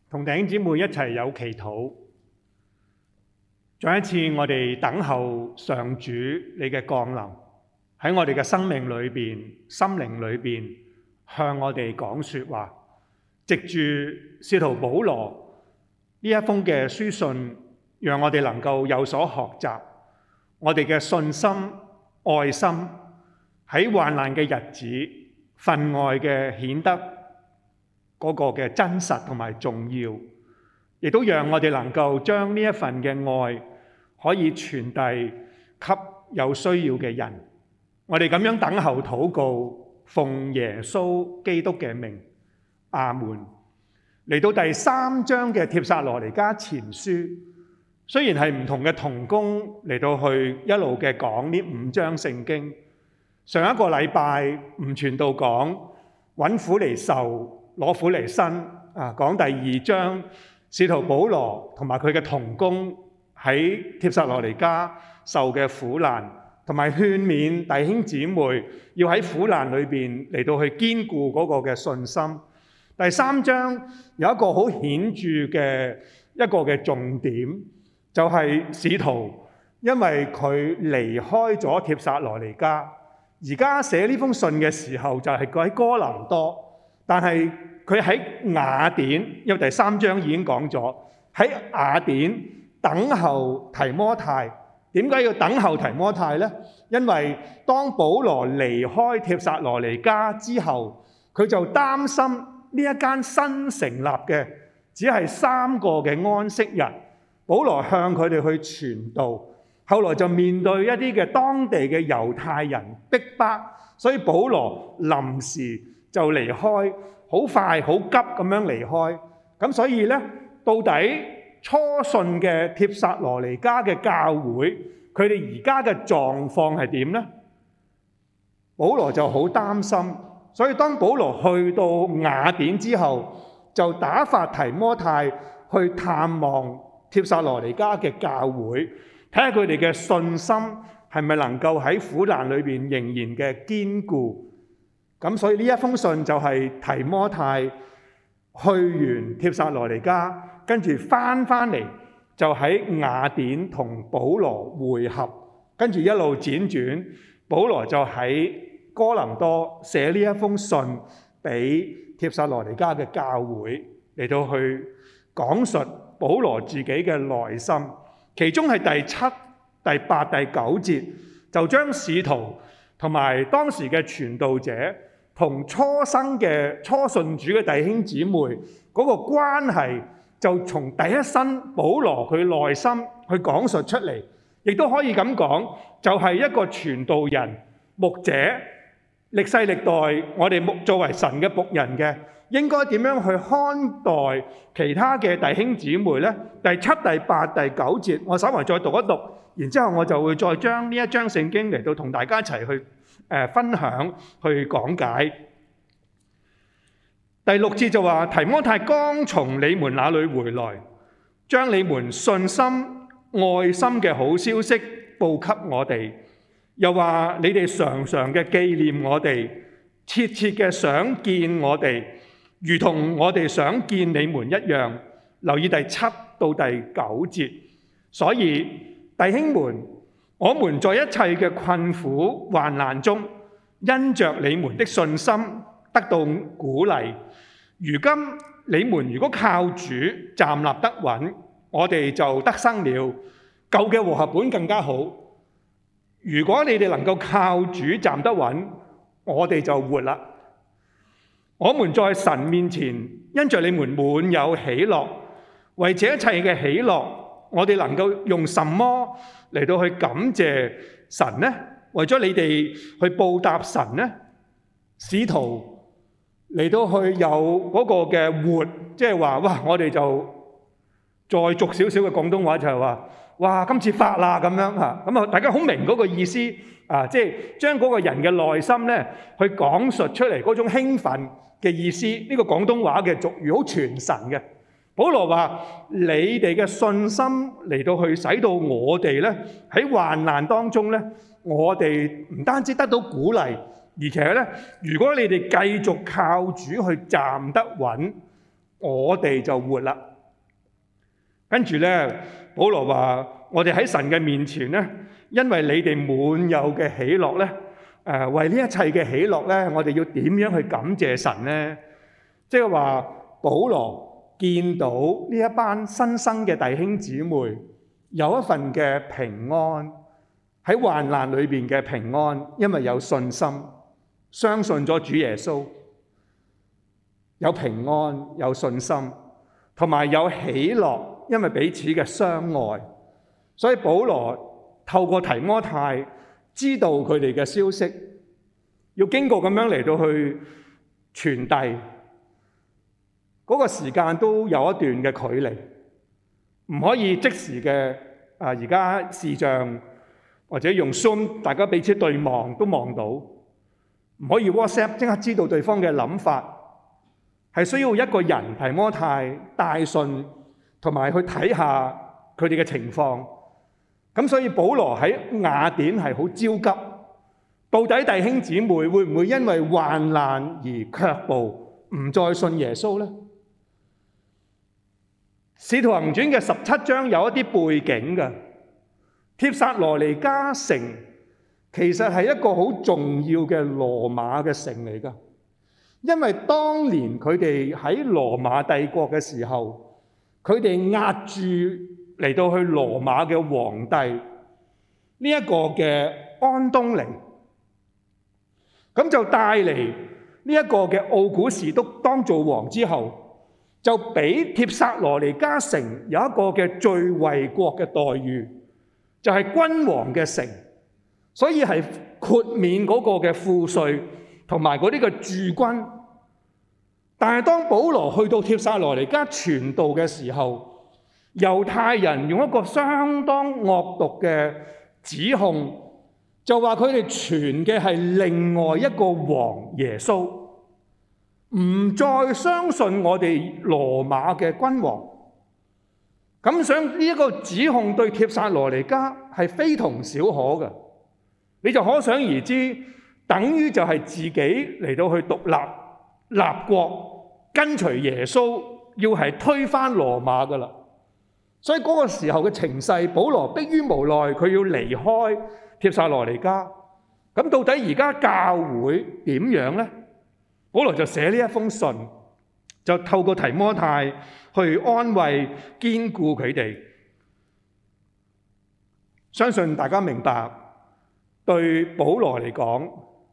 同弟兄姊妹一齊有祈禱，再一次我哋等候上主你嘅降臨，喺我哋嘅生命裏邊、心靈裏邊向我哋講說話，藉住使徒保羅呢一封嘅書信，讓我哋能夠有所學習，我哋嘅信心、愛心喺患難嘅日子分外嘅顯得嗰個嘅真實同埋重要，亦都讓我哋能夠將呢一份嘅愛可以傳遞給有需要嘅人。我哋咁樣等候禱告，奉耶穌基督嘅名，阿門。嚟到第3章嘅帖撒羅尼迦前書，雖然係唔同嘅同工嚟到去一路嘅講呢5章聖經。上一個禮拜吳傳道講揾苦嚟受，攞苦嚟辛啊！講第2章，使徒保羅同埋佢嘅同工喺帖撒羅尼迦受嘅苦難，同埋勸勉弟兄姊妹要喺苦難裏邊嚟到去堅固嗰個嘅信心。第3章有一個好顯著嘅一個嘅重點，就係使徒因為佢離開咗帖撒羅尼迦，而家寫呢封信嘅時候就係佢喺哥林多，但係佢喺雅典，因為第3章已經講咗喺雅典等候提摩太。點解要等候提摩太呢？因為當保羅離開帖撒羅尼迦之後，佢就擔心呢一間新成立嘅只係3個嘅安息日，保羅向佢哋去傳道，後來就面對一啲嘅當地嘅猶太人逼迫，所以保羅臨時就離開。好快好急咁樣離開，咁所以呢，到底初信嘅帖撒羅尼迦嘅教會，佢哋而家嘅狀況係點呢？保羅就好擔心，所以當保羅去到雅典之後，就打發提摩太去探望帖撒羅尼迦嘅教會，睇下佢哋嘅信心係咪能夠喺苦難裏邊仍然嘅堅固。咁所以呢一封信就係提摩太去完帖撒羅尼迦，跟住翻嚟就喺雅典同保羅會合，跟住一路輾轉，保羅就喺哥林多寫呢一封信俾帖撒羅尼迦嘅教會，嚟到去講述保羅自己嘅內心。其中係第7、第8、第9節，就將使徒同埋當時嘅傳道者同初生嘅初信主嘅弟兄姊妹嗰個關係，就從第一身保羅佢內心去講述出嚟，亦都可以咁講，就係一個傳道人、牧者，歷世歷代我哋作為神嘅僕人嘅，應該點樣去看待其他嘅弟兄姊妹呢？第7、第8、第9節，我稍微再讀一讀，然之後我就會再將呢一章聖經嚟到同大家一齊去分享去講解。第6節就話，提摩太剛從你們那裡回來，將你們信心愛心嘅好消息報給我哋，又話你哋常常嘅紀念我哋，切切嘅想見我哋，如同我哋想見你們一樣。留意第7到第9節。所以弟兄們，我們在一切嘅困苦患難中，因着你們的信心得到鼓勵。如今你們如果靠主站立得穩，我哋就得生了。舊嘅和合本更加好。如果你哋能夠靠主站得穩，我哋就活啦。我們在神面前因着你們滿有喜樂，為這一切嘅喜樂，我哋能夠用什麼嚟到去感謝神呢？為咗你哋去報答神呢？使徒嚟到去有嗰個嘅活，即係話哇！我哋就再俗少少嘅廣東話就係話，哇！今次發啦咁樣嚇，咁啊大家好明嗰個意思啊，即係將嗰個人嘅內心咧去講述出嚟嗰種興奮嘅意思。呢個廣東話嘅俗語好傳神嘅。保羅話：你哋嘅信心嚟到去使到我哋咧喺患難當中咧，我哋唔單止得到鼓勵，而且咧，如果你哋繼續靠主去站得穩， 我哋就活啦。跟住呢，保羅話：我哋喺神嘅面前呢，因為你哋滿有嘅喜樂呢，為呢一切嘅喜樂呢，我哋要點樣去感謝神呢？即係話，保羅見到呢一班新生嘅弟兄姊妹有一份嘅平安，喺患難裏邊嘅平安，因為有信心，相信咗主耶穌，有平安，有信心，同埋有喜樂，因為彼此嘅相愛。所以保羅透過提摩太知道佢哋嘅消息，要經過咁樣嚟到去傳遞，嗰個時間都有一段嘅距離，唔可以即時嘅而家視像或者用 Zoom 大家彼此對望都望到，唔可以 WhatsApp 即刻知道對方嘅諗法，係需要一個人提摩太帶信，同埋去睇下佢哋嘅情況。咁所以保羅喺雅典係好焦急，到底弟兄姊妹會唔會因為患難而卻步，唔再信耶穌呢？使徒行傳嘅17章有一啲背景嘅，帖撒羅尼迦城其實係一個好重要嘅羅馬嘅城嚟㗎，因為當年佢哋喺羅馬帝國嘅時候，佢哋壓住嚟到去羅馬嘅皇帝呢一個嘅安東尼，咁就帶嚟呢一個嘅奧古士督當做王之後，就俾帖撒羅尼迦城有一個嘅最惠國嘅待遇，就係君王嘅城，所以係豁免嗰個嘅賦稅同埋嗰啲嘅駐軍。但係當保羅去到帖撒羅尼迦傳道嘅時候，猶太人用一個相當惡毒嘅指控，就話佢哋傳嘅係另外一個王耶穌，唔再相信我哋羅馬嘅君王。咁想呢一個指控對帖撒羅尼迦係非同小可嘅，你就可想而知，等於就係自己嚟到去獨立立國，跟隨耶穌，要係推翻羅馬噶啦。所以嗰個時候嘅情勢，保羅迫於無奈，佢要離開帖撒羅尼迦。咁到底而家教會點樣呢？保羅就寫呢一封信，就透過提摩太去安慰堅固佢哋。相信大家明白，對保羅嚟講，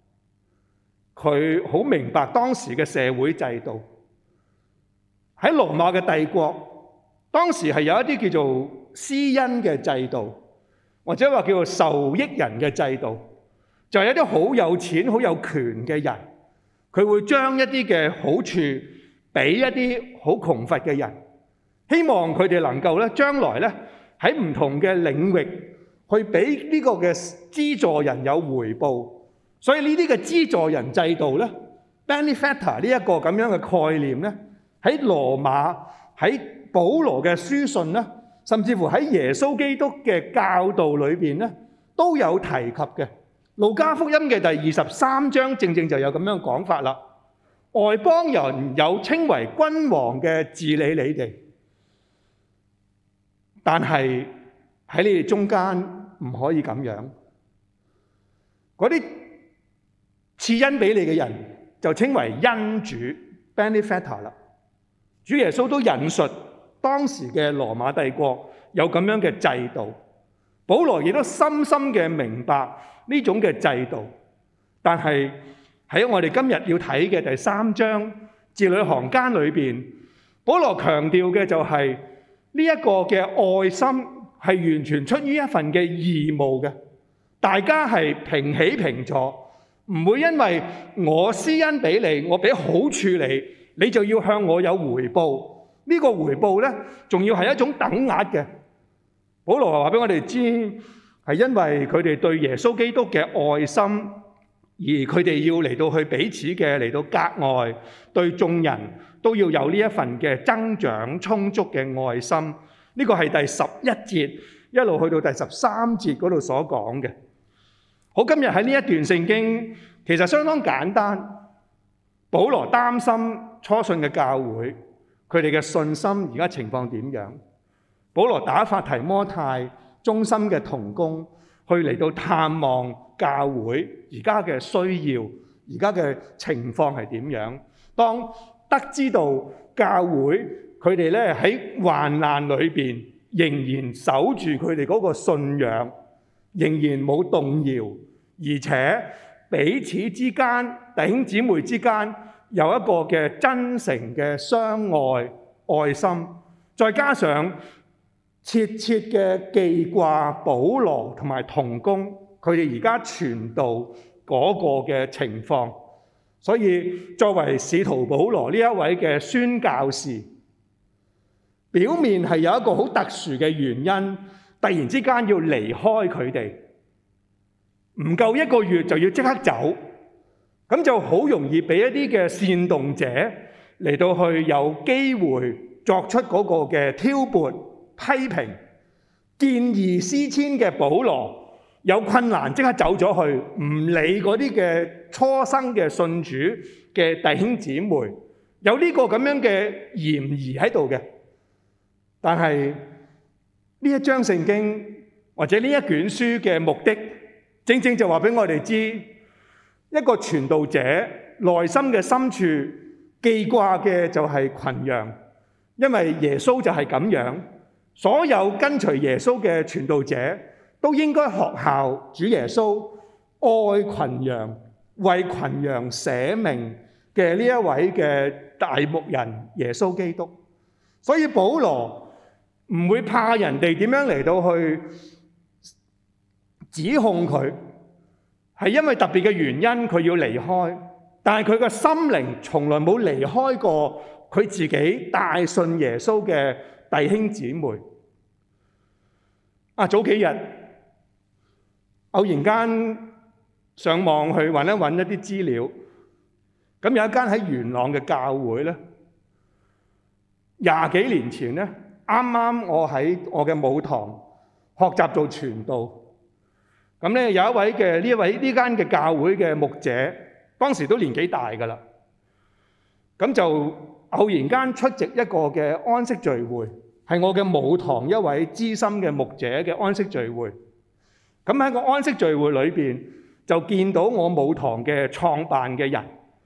佢好明白當時嘅社會制度。喺羅馬嘅帝國，當時係有一啲叫做施恩嘅制度，或者話叫做受益人嘅制度，就係有啲好有錢、好有權嘅人，佢會將一啲嘅好處俾一啲好窮乏嘅人，希望佢哋能夠咧將來咧喺唔同嘅領域去俾呢個嘅資助人有回報。所以呢啲嘅資助人制度咧 ，benefactor 呢一個咁樣嘅概念咧，喺羅馬喺保羅嘅書信咧，甚至乎喺耶穌基督嘅教導裏邊咧，都有提及嘅。路加福音嘅第23章正正就有咁樣講法啦。外邦人有稱為君王嘅治理你哋，但係喺你哋中間唔可以咁樣。嗰啲賜恩俾你嘅人就稱為恩主 benefactor 啦。主耶穌都引述當時嘅羅馬帝國有咁樣嘅制度，保羅亦都深深嘅明白呢種嘅制度。但係喺我哋今日要睇嘅第3章字裏行間裏邊，保羅強調嘅就係呢一個嘅愛心係完全出於一份嘅義務嘅，大家係平起平坐，唔會因為我施恩俾你，我俾好處你，你就要向我有回報。呢個回報呢，仲要係一種等額嘅。保羅話俾我哋知，係因為佢哋對耶穌基督嘅愛心，而佢哋要嚟到去彼此嘅嚟到格外對眾人都要有呢一份嘅增長充足嘅愛心。呢個係第11節一路去到第13節嗰度所講嘅。好，今日喺呢一段聖經其實相當簡單。保羅擔心初信嘅教會，佢佢哋嘅信心而家情況點樣。保羅打發提摩太忠心嘅同工去嚟到探望教會而家嘅需要，而家嘅情況係點樣。當得知到教會佢哋咧喺患難裏邊仍然守住佢哋嗰個信仰，仍然冇動搖，而且彼此之間弟兄姊妹之間有一個嘅真誠嘅相愛愛心，再加上切切嘅記掛保羅同埋同工佢哋而家傳道嗰個嘅情況，所以作為使徒保羅呢一位嘅宣教士，表面係有一個好特殊嘅原因，突然之間要離開佢哋，唔夠1個月就要即刻走，咁就好容易俾一啲嘅煽動者嚟到去有機會作出嗰個嘅挑撥批評，見異思遷嘅保羅有困難即刻走咗去，唔理嗰啲嘅初生嘅信主嘅弟兄姊妹，有呢個咁樣嘅嫌疑喺度嘅。但係呢一章聖經或者呢一卷書嘅目的，正正就話俾我哋知，一個傳道者內心嘅深處記掛嘅就係群羊，因為耶穌就係咁樣。所有跟隨耶穌嘅傳道者都應該學效主耶穌愛群羊、為群羊捨命嘅呢一位嘅大牧人耶穌基督。所以保羅唔會怕人哋點樣嚟到去指控佢，係因為特別嘅原因佢要離開，但係佢個心靈從來冇離開過佢自己帶信耶穌嘅弟兄姊妹。早幾日偶然間上網去揾一啲資料，咁有一間喺元朗嘅教會咧，20幾年前咧，啱啱我喺我嘅母堂學習做傳道，咁咧有一位嘅呢間嘅教會嘅牧者，當時都年紀大㗎啦，咁就偶然間出席一個嘅安息聚會，係我嘅母堂一位資深嘅牧者嘅安息聚會。咁喺個安息聚會裏邊，就見到我母堂嘅創辦嘅人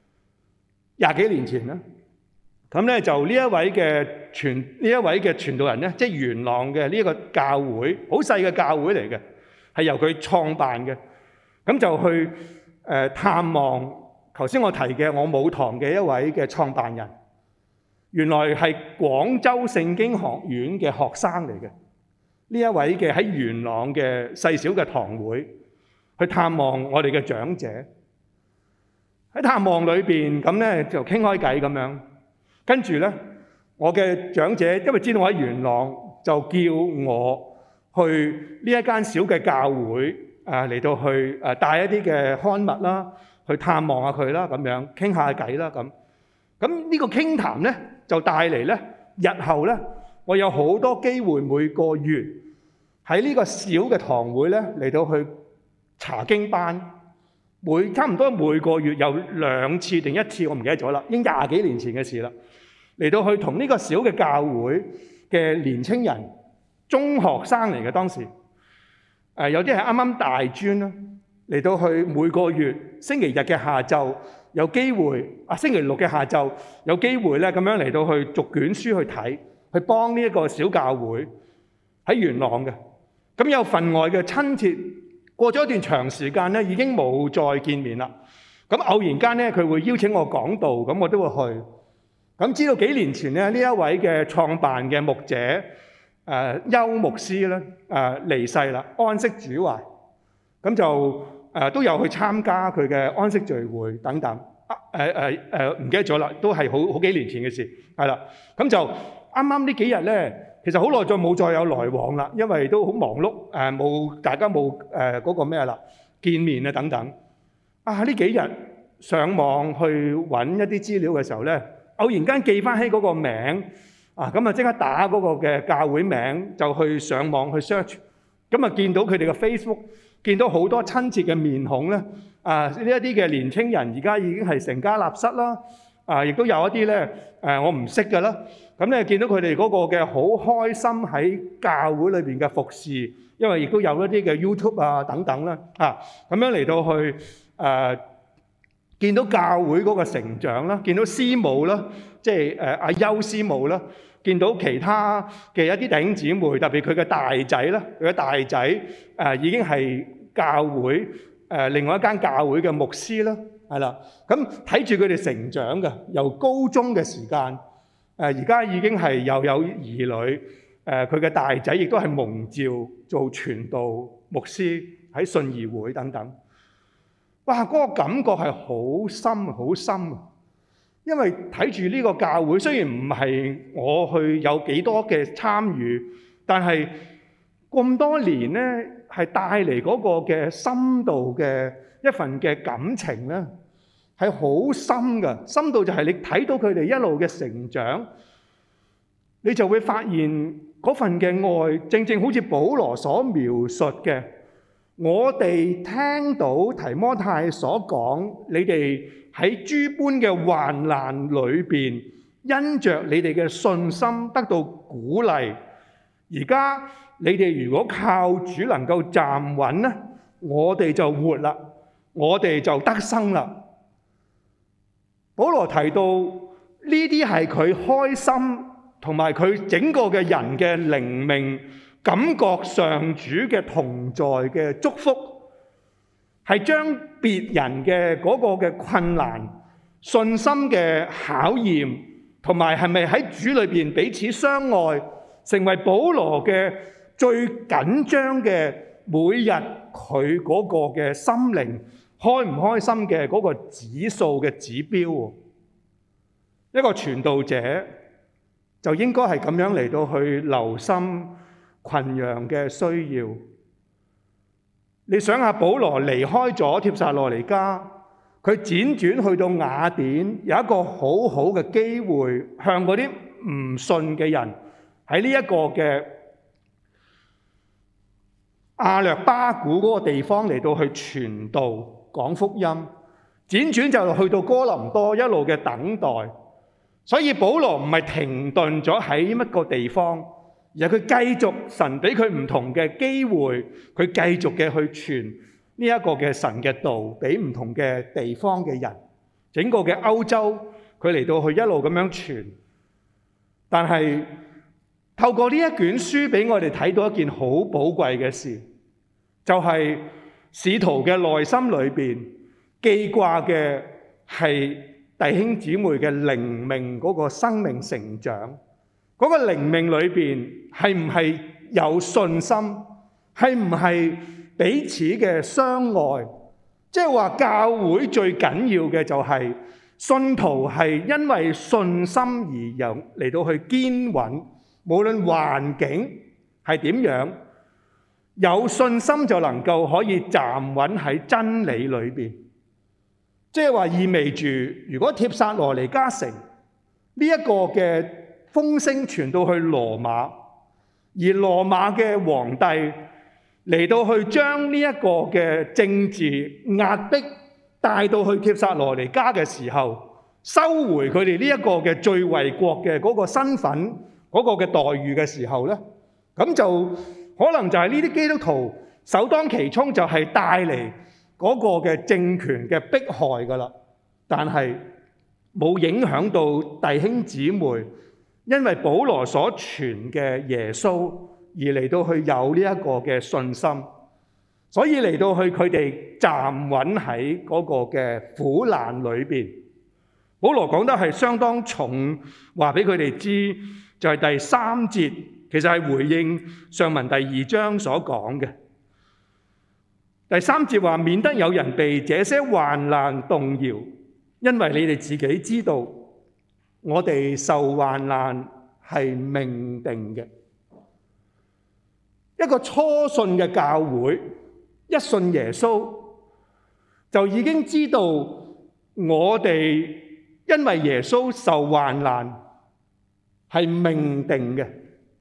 ，20幾年前啦。咁咧就呢一位嘅傳道人咧，即係元朗嘅呢一個教會，好細嘅教會嚟嘅，係由佢創辦嘅。咁就去探望頭先我提嘅我母堂嘅一位嘅創辦人。原來係廣州聖經學院嘅學生嚟嘅，呢一位嘅喺元朗嘅細小嘅堂會去探望我哋嘅長者。喺探望裏邊咁咧就傾開偈咁樣，跟住咧我嘅長者因為知道我喺元朗，就叫我去呢一間小嘅教會嚟到去帶一啲嘅刊物啦，去探望下佢啦，咁樣傾下偈啦咁。咁呢個傾談咧就帶嚟咧，日後咧我有好多機會每個月喺呢個小嘅堂會咧嚟到去查經班，差唔多每個月有2次定1次，我唔記得咗啦，已經20幾年前嘅事啦。嚟到去同呢個小嘅教會嘅年青人，中學生嚟嘅當時，有啲係啱啱大專啦，嚟到去每個月星期日嘅下晝。有機會星期六嘅下晝有機會咧，咁樣嚟到去逐卷書去睇，去幫呢一個小教會喺元朗嘅。咁有份外嘅親切。過咗一段長時間咧，已經冇再見面啦。咁偶然間咧，佢會邀請我講道，咁我都會去。咁知道幾年前咧，呢一位嘅創辦嘅牧者邱牧師咧離世啦，安息主懷。咁就都有去參加佢嘅安息聚會等等，唔記得咗啦，都係好幾年前嘅事，係啦。咁就啱啱呢幾日咧，其實好耐冇再有來往啦，因為都好忙碌，大家冇嗰個咩啦，見面啊等等。呢幾日上網去揾一啲資料嘅時候咧，偶然間記翻起嗰個名，咁啊即刻打嗰個嘅教會名，就去上網去 search， 咁啊見到佢哋嘅 Facebook。見到好多親切嘅面孔咧，呢一啲嘅年青人而家已經係成家立室啦， 亦都有一啲咧我唔識㗎啦。咁咧見到佢哋嗰個嘅好開心喺教會裏邊嘅服侍，因為亦都有一啲嘅 YouTube 啊等等啦，咁樣嚟到去見到教會嗰個成長啦，見到師母啦，即係阿邱師母啦，見到其他嘅一啲弟兄姊妹，特別佢嘅大仔啦，佢嘅大仔已經係教會另外一間教會嘅牧師啦，係啦，咁睇住佢哋成長嘅，由高中嘅時間，而家已經係又有兒女，佢嘅大仔亦都係蒙召做傳道牧師喺信義會等等。哇！嗰個感覺係好深好深啊！因為睇住呢個教會，雖然唔係我去有幾多嘅參與，但係咁多年咧，係帶嚟嗰個嘅深度嘅一份嘅感情咧，係好深㗎。深度就係你睇到佢哋一路嘅成長，你就會發現嗰份嘅愛，正正好似保羅所描述嘅。我哋聽到提摩太所講，你哋喺諸般嘅患難裏邊，因着你哋嘅信心得到鼓勵。而家你哋如果靠主能夠站穩咧，我哋就活啦，我哋就得生啦。保羅提到呢啲係佢開心同埋佢整個嘅人嘅靈命，感覺上主嘅同在嘅祝福，係將別人嘅嗰個嘅困難、信心嘅考驗，同埋係咪喺主裏邊彼此相愛，成為保羅嘅最緊張嘅每日佢嗰個嘅心靈開唔開心嘅嗰個指數嘅指標。一個傳道者就應該係咁樣嚟到去留心群羊嘅需要。你想下，保羅離開咗帖撒羅尼迦，佢輾轉去到雅典，有一個好好嘅機會，向嗰啲唔信嘅人喺呢一個嘅亞略巴古嗰個地方嚟到去傳道講福音，輾轉就去到哥林多，一路嘅等待。所以保羅唔係停頓咗喺一個地方，而係佢繼續，神俾佢唔同嘅機會，佢繼續嘅去傳呢一個嘅神嘅道俾唔同嘅地方嘅人。整個嘅歐洲，佢嚟到去一路咁樣傳。但係透過呢一卷書俾我哋睇到一件好寶貴嘅事，就係使徒嘅內心裏邊記掛嘅係弟兄姊妹嘅靈命嗰個生命成長，嗰個靈命裏邊係唔係有信心，係唔係彼此嘅相愛？即係話教會最緊要嘅就係信徒係因為信心而有嚟到去堅穩，無論環境係點樣，有信心就能夠可以站穩喺真理裏邊。即係話意味住，如果帖撒羅尼迦城呢一個嘅風聲傳到去羅馬，而羅馬嘅皇帝嚟到去將呢一個嘅政治壓迫帶到去帖撒羅尼迦嘅時候，收回佢哋呢一個嘅最為國嘅嗰個身份嗰個嘅待遇嘅時候咧，咁就可能就係呢啲基督徒首當其衝就係帶嚟嗰個嘅政權嘅迫害㗎啦，但係冇影響到弟兄姊妹，因為保羅所傳嘅耶穌而嚟到去有呢一個嘅信心，所以嚟到去佢哋站穩喺嗰個嘅苦難裏邊。保羅講得係相當重，話俾佢哋知，就係第3節，其實係回應上文第2章所講嘅。第3節話，免得有人被這些患難動搖，因為你哋自己知道，我哋受患難係命定嘅。一個初信嘅教會，一信耶穌，就已經知道我哋因為耶穌受患難係命定嘅。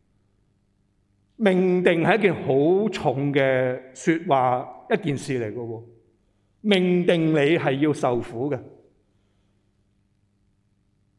命定係一件好重嘅說話，一件事嚟嘅喎。命定你係要受苦嘅。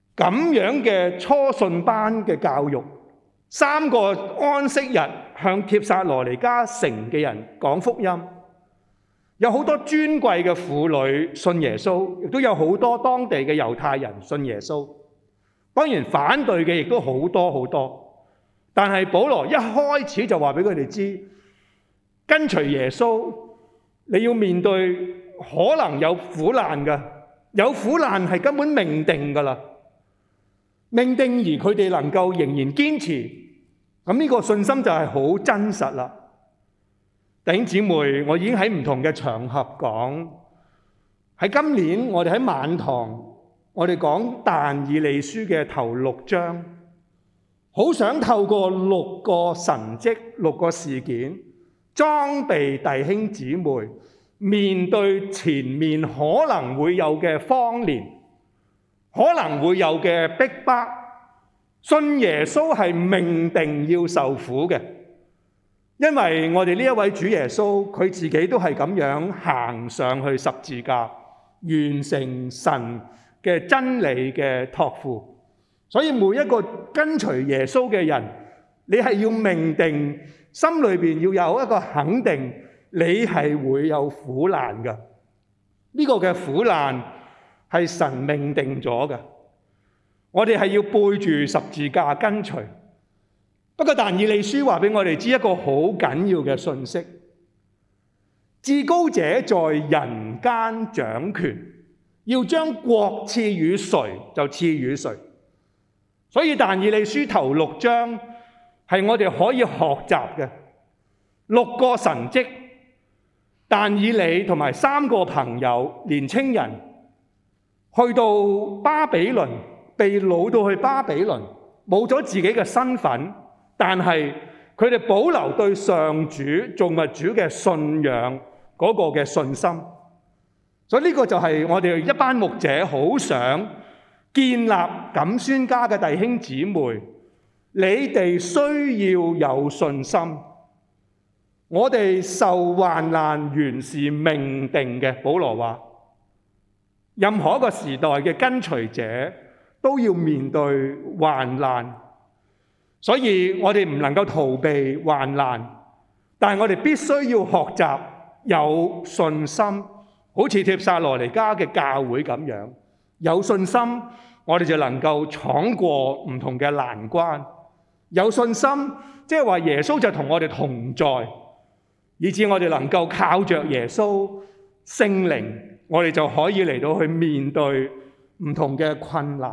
咁樣嘅初信班嘅教育，3個安息日向帖撒羅尼迦城嘅人講福音，有好多尊貴嘅婦女信耶穌，亦都有好多當地嘅猶太人信耶穌。當然反對嘅亦都好多好多，但係保羅一開始就話俾佢哋知，跟隨耶穌你要面對可能有苦難㗎，有苦難係根本命定㗎啦。命定而佢哋能夠仍然堅持，咁呢個信心就係好真實啦。弟兄姊妹，我已經喺唔同嘅場合講，喺今年我哋喺晚堂，我哋講但以理書嘅頭6章，好想透過6個神蹟、6個事件，裝備弟兄姊妹面對前面可能會有嘅荒年，可能會有嘅逼迫，信耶穌係命定要受苦嘅，因為我哋呢一位主耶穌，佢自己都係咁樣行上去十字架，完成神嘅真理嘅託付。所以每一個跟隨耶穌嘅人，你係要命定，心裏面要有一個肯定，你係會有苦難嘅。呢個嘅苦難係神命定咗嘅，我哋係要背住十字架跟隨。不過但以理書話俾我哋知一個好緊要嘅信息，至高者在人間掌權，要將國賜予誰就賜予誰。所以但以理書頭6章係我哋可以學習嘅6個神蹟。但以理同埋3個朋友年青人去到巴比倫，被擄到去巴比倫，冇咗自己嘅身份，但係佢哋保留對上主造物主嘅信仰嗰個嘅信心。所以呢個就係我哋一班牧者好想建立錦宣家嘅弟兄姊妹，你哋需要有信心。我哋受患難原是命定嘅，保羅話，任何一個時代嘅跟隨者都要面對患難，所以我哋唔能夠逃避患難，但係我哋必須要學習有信心，好似帖撒羅尼迦嘅教會咁樣，有信心我哋就能夠闖過唔同嘅難關。有信心即係話耶穌就同我哋同在，以致我哋能夠靠着耶穌聖靈，我哋就可以嚟到去面對唔同嘅困難。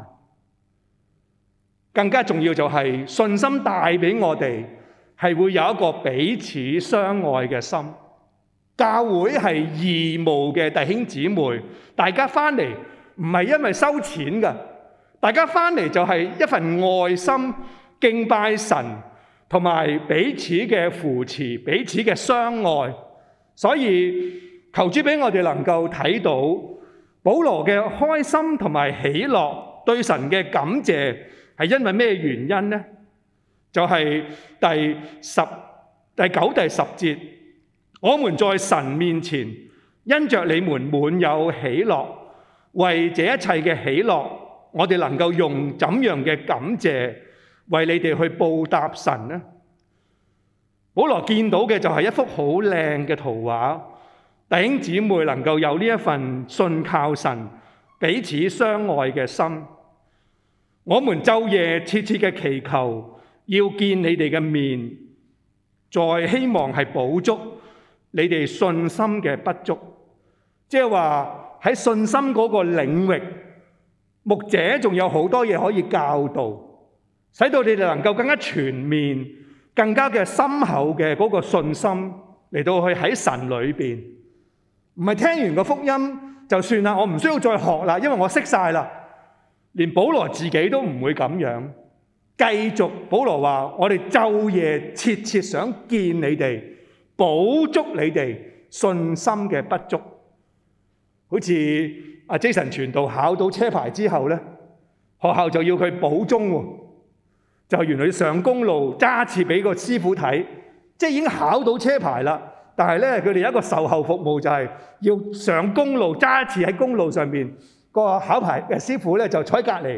更加重要就係信心帶俾我哋係會有一個彼此相愛嘅心。教會係義務嘅弟兄姊妹，大家翻嚟唔係因為收錢㗎，大家翻嚟就係一份愛心敬拜神，同埋彼此嘅扶持，彼此嘅相愛。所以求主俾我哋能夠睇到保羅嘅開心同埋喜樂，對神嘅感謝係因為咩原因呢？就係第9、第10節，我們在神面前因着你們滿有喜樂，為這一切嘅喜樂，我哋能夠用怎樣嘅感謝為你哋去報答神呢？保羅見到嘅就係一幅好靚嘅圖畫，弟兄姊妹能夠有呢一份信靠神、彼此相愛嘅心。我們晝夜切切嘅祈求，要見你哋嘅面，再希望係補足你哋信心嘅不足。即係話喺信心嗰個領域，牧者仲有好多嘢可以教導，使到你哋能夠更加全面、更加嘅深厚嘅嗰個信心嚟到去喺神裏邊，唔係聽完個福音就算啦，我唔需要再學啦，因為我識晒啦。連保羅自己都唔會咁樣，繼續保羅話：我哋晝夜切切想見你哋，補足你哋信心嘅不足。好似阿 Jason 傳道考到車牌之後咧，學校就要佢補鐘喎。就原來上公路揸次俾個師傅睇，即係已經考到車牌啦。但係咧，佢哋有一個售後服務，就係要上公路揸次喺公路上面，個考牌嘅師傅咧就坐喺隔離，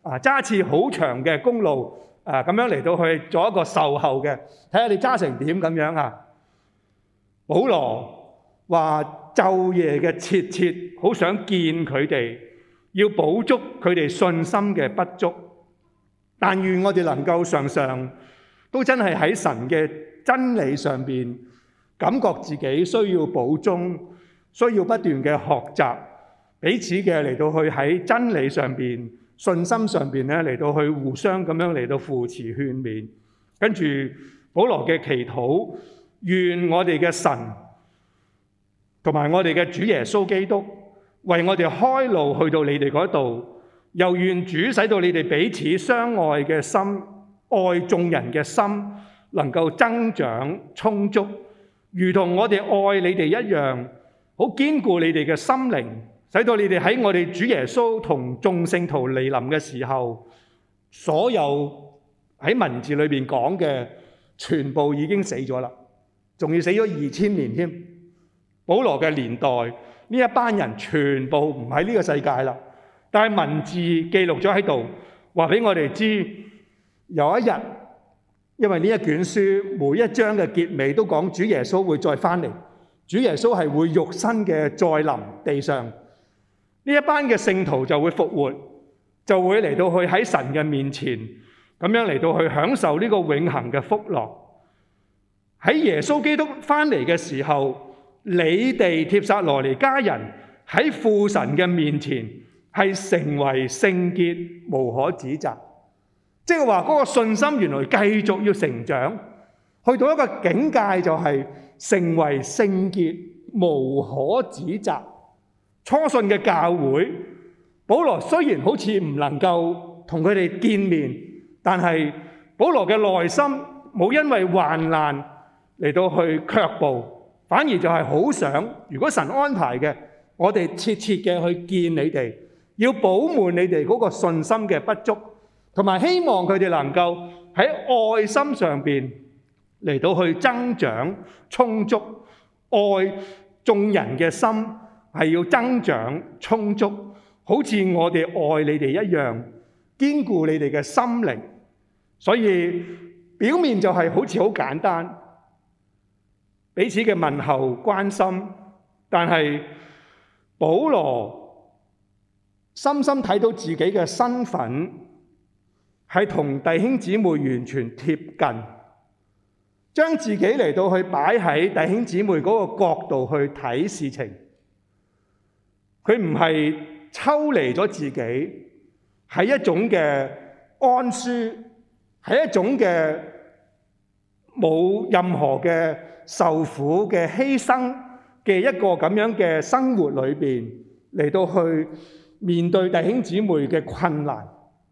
揸次好長嘅公路咁樣嚟到去做一個售後嘅，睇下你揸成點咁樣啊。保羅話晝夜嘅切切好想見佢哋，要補足佢哋信心嘅不足。但願我哋能夠常常都真係喺神嘅真理上邊，感覺自己需要補充，需要不斷嘅學習，彼此嘅嚟到去喺真理上邊、信心上邊咧嚟到去互相咁樣嚟到扶持勸勉。跟住保羅嘅祈禱，願我哋嘅神同埋我哋嘅主耶穌基督為我哋開路去到你哋嗰度。又願主使到你哋彼此相愛嘅心、愛眾人嘅心能夠增長充足，如同我哋愛你哋一樣，好堅固你哋嘅心靈，使到你哋喺我哋主耶穌同眾聖徒嚟臨嘅時候，所有喺文字裏邊講嘅全部已經死咗啦，仲要死咗2000年添。保羅嘅年代呢一班人全部唔喺呢個世界啦。但係文字記錄咗喺度，話俾我哋知有一日，因為呢一卷書每一章嘅結尾都講主耶穌會再翻嚟，主耶穌係會肉身嘅再臨地上，呢一班嘅聖徒就會復活，就會嚟到去喺神嘅面前，咁樣嚟到去享受呢個永恆嘅福樂。喺耶穌基督翻嚟嘅時候，你哋帖撒羅尼迦人喺父神嘅面前，係成為聖潔，無可指責。即係話嗰個信心原來繼續要成長，去到一個境界就係成為聖潔，無可指責。初信嘅教會，保羅雖然好似唔能夠同佢哋見面，但係保羅嘅內心冇因為患難嚟到去卻步，反而就係好想，如果神安排嘅，我哋切切嘅去見你哋。要補滿你哋嗰個信心嘅不足，同埋希望佢哋能夠喺愛心上邊嚟到去增長充足，愛眾人嘅心係要增長充足，好似我哋愛你哋一樣，堅固你哋嘅心靈。所以表面就係好似好簡單，彼此嘅問候關心，但係保羅深深睇到自己嘅身份係同弟兄姊妹完全貼近，將自己嚟到去擺喺弟兄姊妹嗰個角度去睇事情。佢唔係抽離咗自己，係一種嘅安舒，係一種嘅冇任何嘅受苦嘅犧牲嘅一個咁樣嘅生活裏邊嚟到去面對弟兄姊妹嘅困難。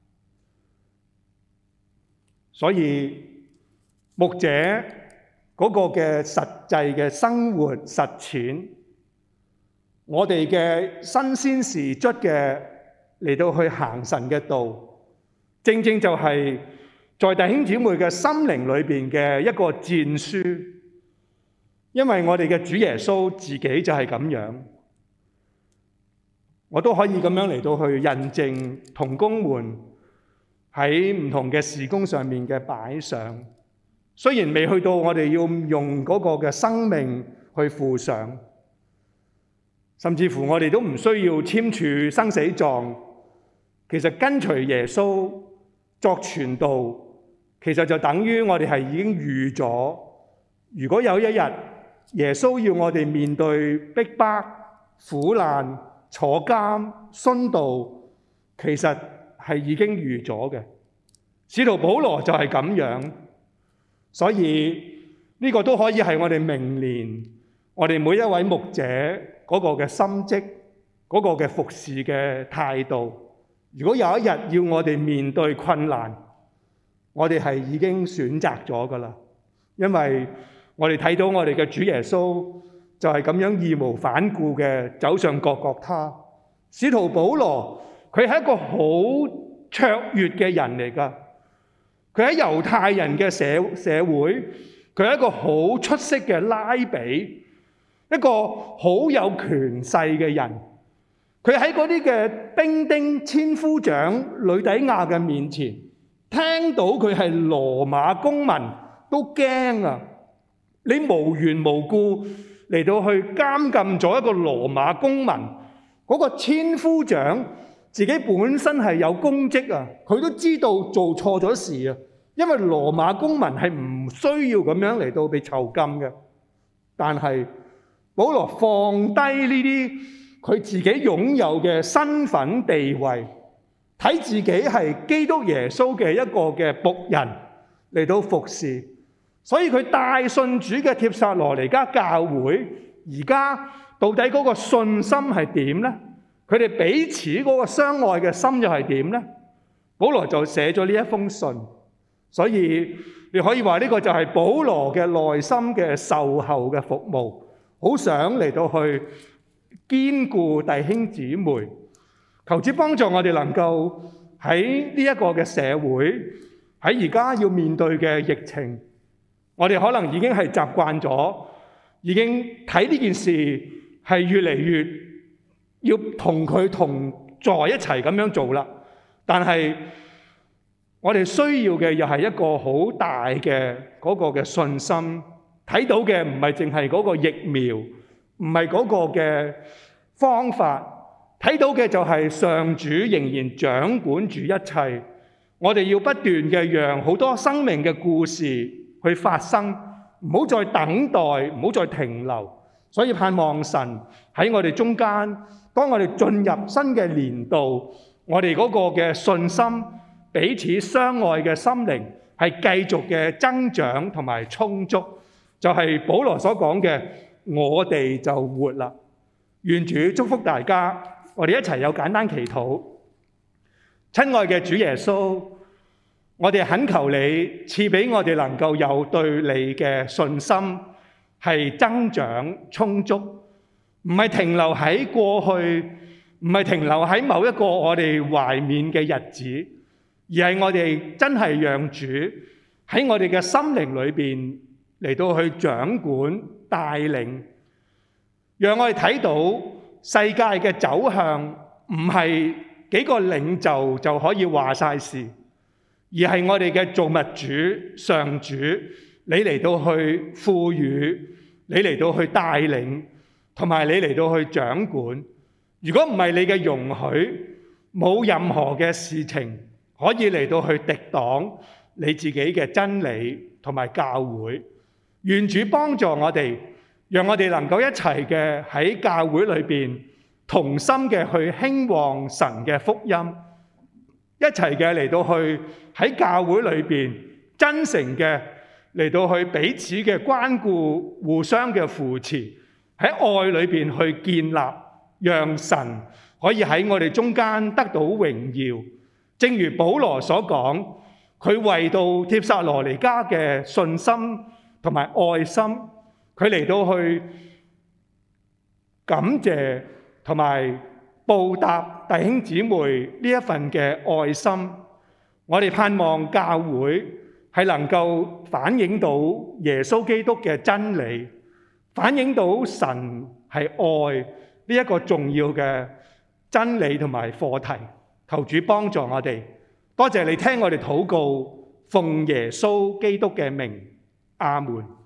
所以牧者嗰個嘅實際嘅生活實踐，我哋嘅新鮮事卒嘅嚟到去行神嘅道，正正就係在弟兄姊妹嘅心靈裏邊嘅一個戰書。因為我哋嘅主耶穌自己就係咁樣。我都可以咁樣嚟到去印證同工們喺唔同嘅事工上面嘅擺上，雖然未去到我哋要用嗰個嘅生命去付上，甚至乎我哋都唔需要簽署生死狀。其實跟隨耶穌作傳道，其實就等於我哋係已經預咗，如果有一日耶穌要我哋面對逼迫、苦難、坐監、殉道，其實係已經預咗嘅。使徒保羅就係咁樣，所以呢個都可以係我哋明年我哋每一位牧者嗰個嘅心跡，嗰個嘅服侍嘅態度。如果有一日要我哋面對困難，我哋係已經選擇咗㗎喇，因為我哋睇到我哋嘅主耶穌就係咁樣義無反顧嘅走上各各他。使徒保羅佢係一個好卓越嘅人嚟㗎，佢喺猶太人嘅社會，佢係一個好出色嘅拉比，一個好有權勢嘅人。 佢喺嗰啲嘅兵丁、千夫長呂底亞嘅面前，聽到佢係羅馬公民都驚啊！你無緣無故嚟到去監禁咗一個羅馬公民，嗰個千夫長自己本身係有公職啊，佢都知道做錯咗事啊，因為羅馬公民係唔需要咁樣嚟到被囚禁嘅。但係保羅放低呢啲佢自己擁有嘅身份地位，睇自己係基督耶穌嘅一個嘅僕人嚟到服侍。所以佢帶信主嘅帖撒羅尼迦教會，而家到底嗰個信心係點呢？佢哋彼此嗰個相愛嘅心又係點呢？保羅就寫咗呢一封信，所以你可以話呢個就係保羅嘅內心嘅售後嘅服務，好想嚟到去堅固弟兄姊妹，求主幫助我哋能夠喺呢一個嘅社會，喺而家要面對嘅疫情。我哋可能已經係習慣咗，已經睇呢件事係越嚟越要同佢同在一齊咁樣做啦。但係我哋需要嘅又係一個好大嘅嗰個嘅信心，睇到嘅唔係淨係嗰個疫苗，唔係嗰個嘅方法，睇到嘅就係上主仍然掌管住一切。我哋要不斷嘅讓好多生命嘅故事去發生，唔好再等待，唔好再停留。所以盼望神喺我哋中間，當我哋進入新嘅年度，我哋嗰個嘅信心、彼此相愛嘅心靈係繼續嘅增長同埋充足，就係保羅所講嘅，我哋就活啦。願主祝福大家，我哋一齊有簡單祈禱。親愛嘅主耶穌，我哋懇求你賜俾我哋能夠有對你嘅信心係增長充足，唔係停留喺過去，唔係停留喺某一個我哋懷緬嘅日子，而係我哋真係讓主喺我哋嘅心靈裏邊嚟到去掌管帶領，讓我哋睇到世界嘅走向唔係幾個領袖就可以話晒事。而係我哋嘅造物主上主，你嚟到去賦予，你嚟到去帶領，同埋你嚟到去掌管。如果唔係你嘅容許，冇任何嘅事情可以嚟到去敵擋你自己嘅真理同埋教會。願主幫助我哋，讓我哋能夠一齊嘅喺教會裏邊同心嘅去興旺神嘅福音。一齊嘅嚟到去喺教會裏邊真誠嘅嚟到去彼此嘅關顧，互相嘅扶持，喺愛裏邊去建立，讓神可以喺我哋中間得到榮耀。正如保羅所講，佢為到帖撒羅尼迦嘅信心同埋愛心，佢嚟到去感謝同埋報答弟兄姊妹呢一份嘅愛心。我哋盼望教會係能夠反映到耶穌基督嘅真理，反映到神係愛呢一個重要嘅真理同埋課題。求主幫助我哋，多謝你聽我哋禱告，奉耶穌基督嘅名，阿門。